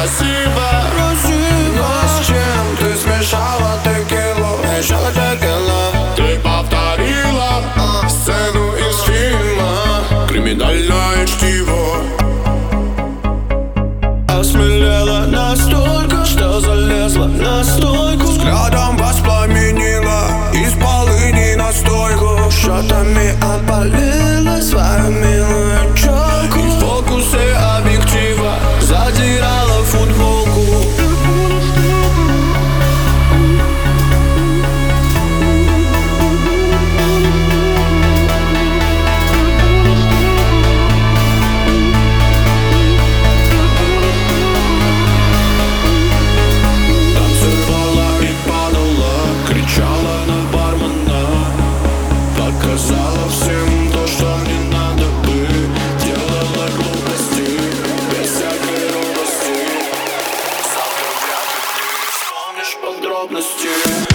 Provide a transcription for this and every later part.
красиво. Но с чем ты смешала текилу? Смешала текилу. Ты повторила сцену из фильма «Криминальное чтиво». Осмелела настолько, что залезла на стойку. Взглядом воспламенила из полыни настойку. Шотами опалила свою милую челку. И в фокусе объектива задирала футболку. Показала всем то, что не надо бы. Делала глупости без всякой робости. Завтра вряд ли ты вспомнишь подробности.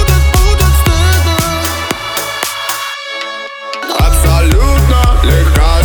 Абсолютно легка